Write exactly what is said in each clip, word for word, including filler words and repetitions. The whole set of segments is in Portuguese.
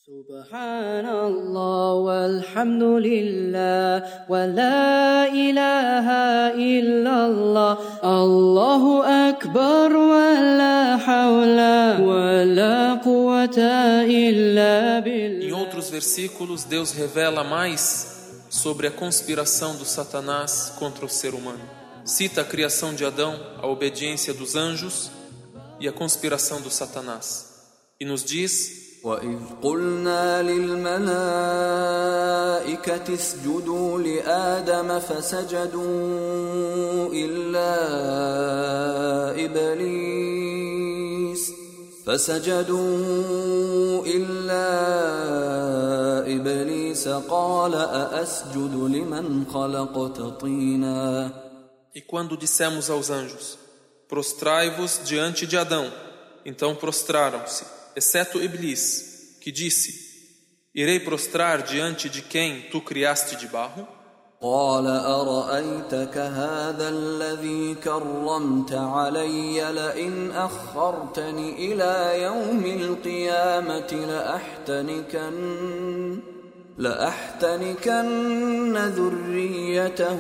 Subhanallah walhamdulillah wa la ilaha illallah Allahu akbar wa la hawla wa la quwwata illa billah. Em outros versículos, Deus revela mais sobre a conspiração do Satanás contra o ser humano. Cita a criação de Adão, a obediência dos anjos e a conspiração do Satanás. E nos diz: وَإِذْ قُلْنَا لِلْمَلَائِكَةِ اسْجُدُوا لِآدَمَ فَسَجَدُوا إِلَّا إِبْلِيسَ فَسَجَدُوا إِلَّا إِبْلِيسَ قَالَ أَأَسْجُدُ لِمَنْ خَلَقْتَ طِينًا. E quando dissemos aos anjos: prostrai-vos diante de Adão, então prostraram-se, exceto Iblis, que disse: irei prostrar diante de quem tu criaste de barro? قال أرأيتك هذا الذي كرمت علي لئن أخرتني إلى يوم القيامة لأحتنكن لأحتنكن ذريته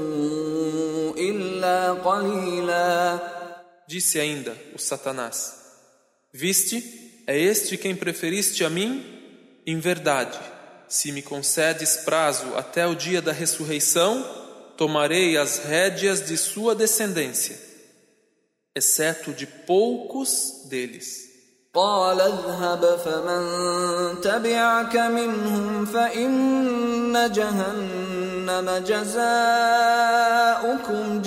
إلا قليلا. Disse ainda o Satanás: viste, é este quem preferiste a mim? Em verdade, se me concedes prazo até o dia da ressurreição, tomarei as rédeas de sua descendência, exceto de poucos deles. قال اذهب فمن تبعك منهم فإن جهنم جزاؤكم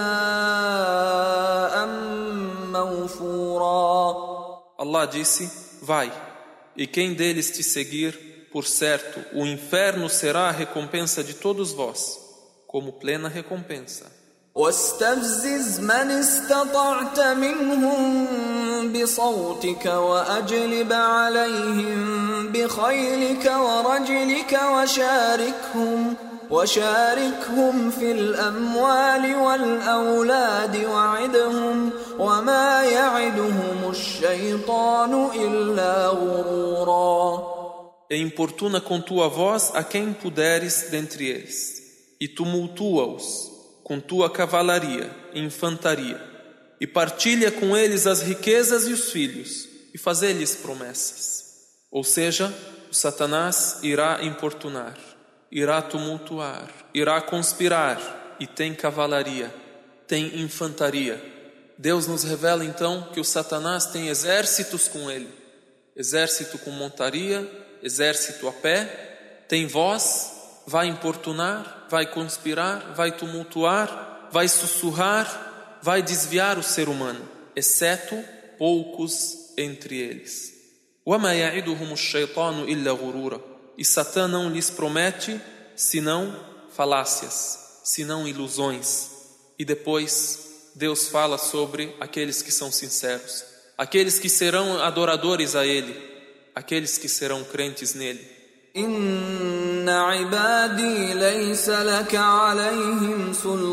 جزاء موفورا. Allah disse: vai, e quem deles te seguir, por certo, o inferno será a recompensa de todos vós, como plena recompensa. واستفزز من استطعت منهم بصوتك وأجلب عليهم بخيلك ورجلك وشاركهم وشاركهم في الأموال والأولاد وعدهم وما يعدهم الشيطان إلا غرورا. E importuna com tua voz a quem puderes dentre eles, e tumultua-os com tua cavalaria e infantaria, e partilha com eles as riquezas e os filhos, e fazê-lhes promessas. Ou seja, o Satanás irá importunar, irá tumultuar, irá conspirar, e tem cavalaria, tem infantaria. Deus nos revela então que o Satanás tem exércitos com ele, exército com montaria, exército a pé, tem voz, vai importunar, vai conspirar, vai tumultuar, vai sussurrar, vai desviar o ser humano, exceto poucos entre eles. وَمَا يَعِدُهُمُ الشَّيْطَانُ إِلَّا غُرُورًا. E Satã não lhes promete senão falácias, senão ilusões. E depois Deus fala sobre aqueles que são sinceros, aqueles que serão adoradores a Ele, aqueles que serão crentes nele. إن عبادي ليس لك عليهم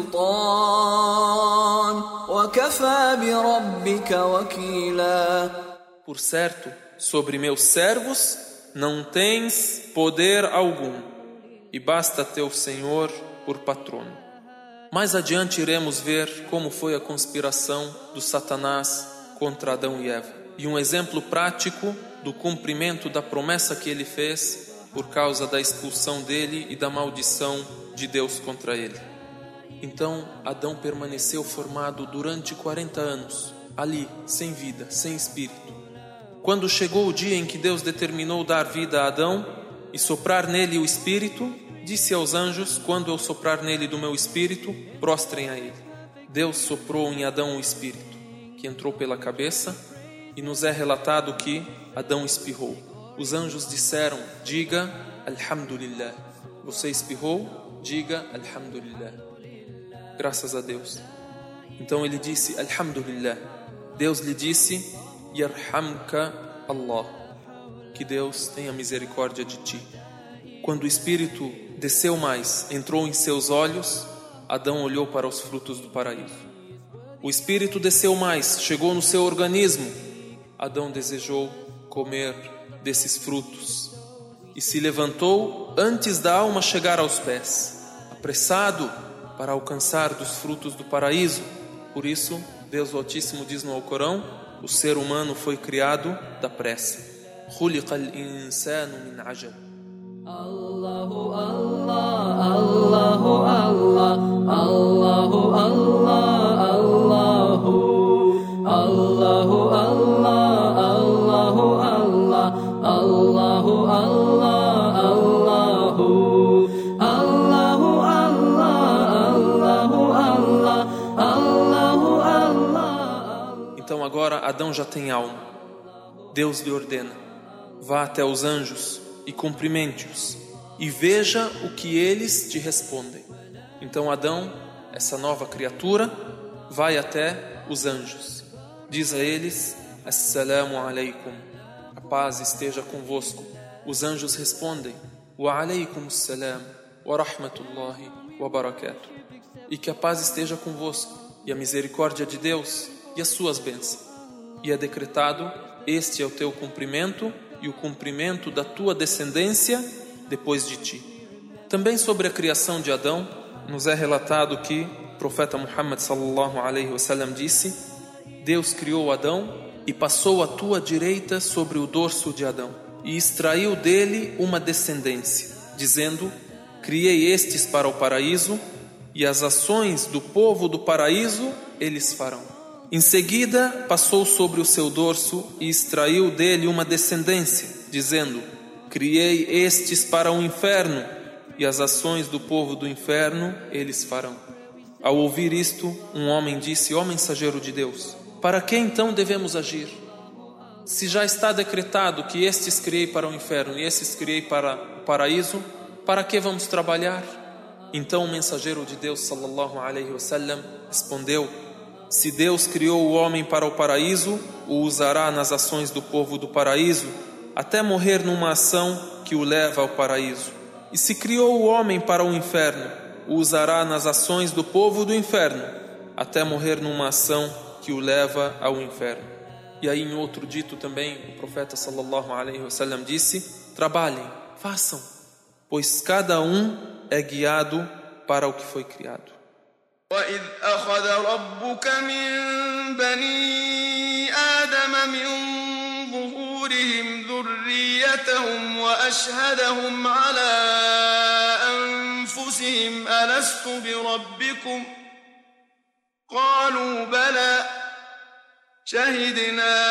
سلطان وكفى بربك وكيلا. Por certo, sobre meus servos não tens poder algum, e basta teu Senhor por patrono. Mais adiante iremos ver como foi a conspiração do Satanás contra Adão e Eva, e um exemplo prático do cumprimento da promessa que ele fez por causa da expulsão dele e da maldição de Deus contra ele. Então Adão permaneceu formado durante quarenta anos, ali, sem vida, sem espírito. Quando chegou o dia em que Deus determinou dar vida a Adão e soprar nele o espírito, disse aos anjos: quando eu soprar nele do meu espírito, prostrem a ele. Deus soprou em Adão o espírito, que entrou pela cabeça, e nos é relatado que Adão espirrou. Os anjos disseram: diga Alhamdulillah. Você espirrou? Diga Alhamdulillah. Graças a Deus. Então ele disse Alhamdulillah. Deus lhe disse: Yarhamka Allah. Que Deus tenha misericórdia de ti. Quando o espírito desceu mais, entrou em seus olhos, Adão olhou para os frutos do paraíso. O espírito desceu mais, chegou no seu organismo. Adão desejou comer desses frutos e se levantou antes da alma chegar aos pés, apressado para alcançar dos frutos do paraíso. Por isso, Deus Altíssimo diz no Alcorão: o ser humano foi criado da pressa. خُلِقَ الْإِنسَانُ مِنْ عَجَلٍ. Allahu Allah, Allahu Allah, Allahu Allah, Allahu Allahu Allah, Allahu Allah, Allahu Allah, Allahu Allahu Allah, Allahu Allah. Então agora Adão já tem alma. Deus lhe ordena: vá até os anjos e cumprimente-os, e veja o que eles te respondem. Então Adão, essa nova criatura, vai até os anjos. Diz a eles: Assalamu alaikum, a paz esteja convosco. Os anjos respondem: Wa alaikum assalam, wa rahmatullahi wa barakatuh. E que a paz esteja convosco, e a misericórdia de Deus, e as suas bênçãos. E é decretado: este é o teu cumprimento e o cumprimento da tua descendência depois de ti. Também sobre a criação de Adão, nos é relatado que o profeta Muhammad sallallahu alaihi wasallam disse: Deus criou Adão e passou a tua direita sobre o dorso de Adão e extraiu dele uma descendência, dizendo: criei estes para o paraíso, e as ações do povo do paraíso eles farão. Em seguida, passou sobre o seu dorso e extraiu dele uma descendência, dizendo: criei estes para o inferno, e as ações do povo do inferno eles farão. Ao ouvir isto, um homem disse: ó mensageiro de Deus, para que então devemos agir? Se já está decretado que estes criei para o inferno e estes criei para o paraíso, para que vamos trabalhar? Então o mensageiro de Deus sallallahu alaihi wasallam respondeu: se Deus criou o homem para o paraíso, o usará nas ações do povo do paraíso, até morrer numa ação que o leva ao paraíso. E se criou o homem para o inferno, o usará nas ações do povo do inferno, até morrer numa ação que o leva ao inferno. E aí em outro dito também, o profeta sallallahu alaihi wasallam disse: trabalhem, façam, pois cada um é guiado para o que foi criado. وَإِذْ أَخَذَ رَبُّكَ مِنْ بَنِي آدَمَ مِنْ ظُهُورِهِمْ ذُرِّيَّتَهُمْ وَأَشْهَدَهُمْ عَلَى أَنفُسِهِمْ أَلَسْتُ بِرَبِّكُمْ قَالُوا بَلَى شَهِدْنَا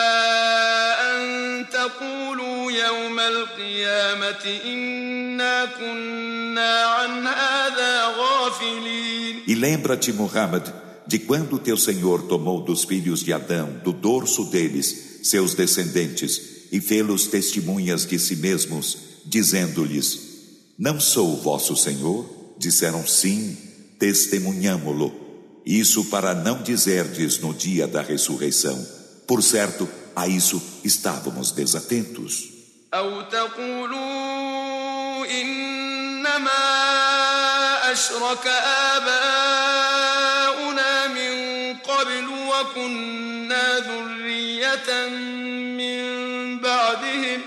أَنْ تَقُولُوا يَوْمَ الْقِيَامَةِ إِنَّا كُنَّا عَنْ هَذَا غَافِلِينَ. E lembra-te, Muhammad, de quando teu Senhor tomou dos filhos de Adão, do dorso deles, seus descendentes, e fê-los testemunhas de si mesmos, dizendo-lhes: não sou vosso Senhor? Disseram: sim, testemunhamo-lo. Isso para não dizerdes no dia da ressurreição: por certo, a isso estávamos desatentos. أو تقولوا إنما أشرك آباؤنا من قبل وكنا ذرية من بعدهم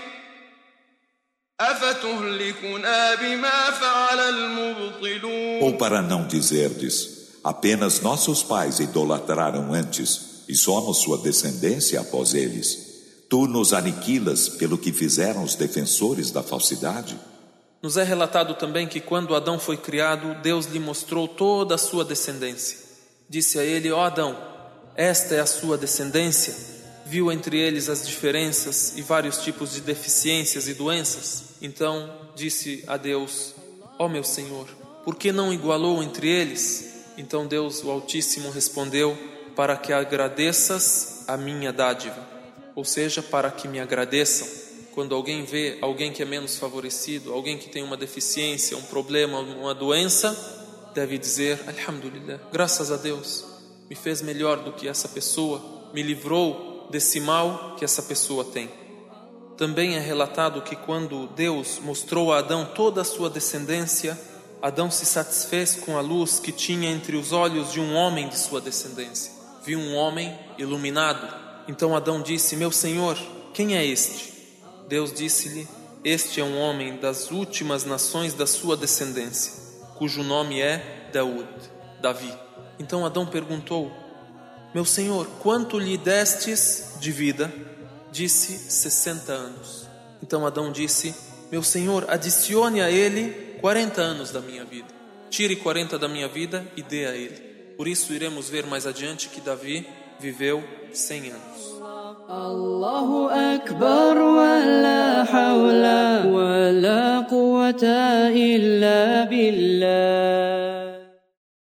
أفتهلكنا بما فعل المبطلون. Ou para não dizerdes: apenas nossos pais idolatraram antes e somos sua descendência após eles. Tu nos aniquilas pelo que fizeram os defensores da falsidade? Nos é relatado também que quando Adão foi criado, Deus lhe mostrou toda a sua descendência. Disse a ele: ó Adão, esta é a sua descendência. Viu entre eles as diferenças e vários tipos de deficiências e doenças. Então disse a Deus: ó meu Senhor, por que não igualou entre eles? Então Deus, o Altíssimo, respondeu: para que agradeças a minha dádiva. Ou seja, para que me agradeçam. Quando alguém vê alguém que é menos favorecido, alguém que tem uma deficiência, um problema, uma doença, deve dizer: Alhamdulillah, graças a Deus, me fez melhor do que essa pessoa, me livrou desse mal que essa pessoa tem. Também é relatado que quando Deus mostrou a Adão toda a sua descendência, Adão se satisfez com a luz que tinha entre os olhos de um homem de sua descendência. Viu um homem iluminado. Então Adão disse: meu Senhor, quem é este? Deus disse-lhe: Este é um homem das últimas nações da sua descendência, cujo nome é Daud, Davi. Então Adão perguntou: Meu senhor, quanto lhe destes de vida? Disse: sessenta anos. Então Adão disse: Meu senhor, adicione a ele quarenta anos da minha vida. Tire quarenta da minha vida e dê a ele. Por isso iremos ver mais adiante que Davi viveu cem anos. Allahu Akbar wa la hawla wa la quwwata illa billah.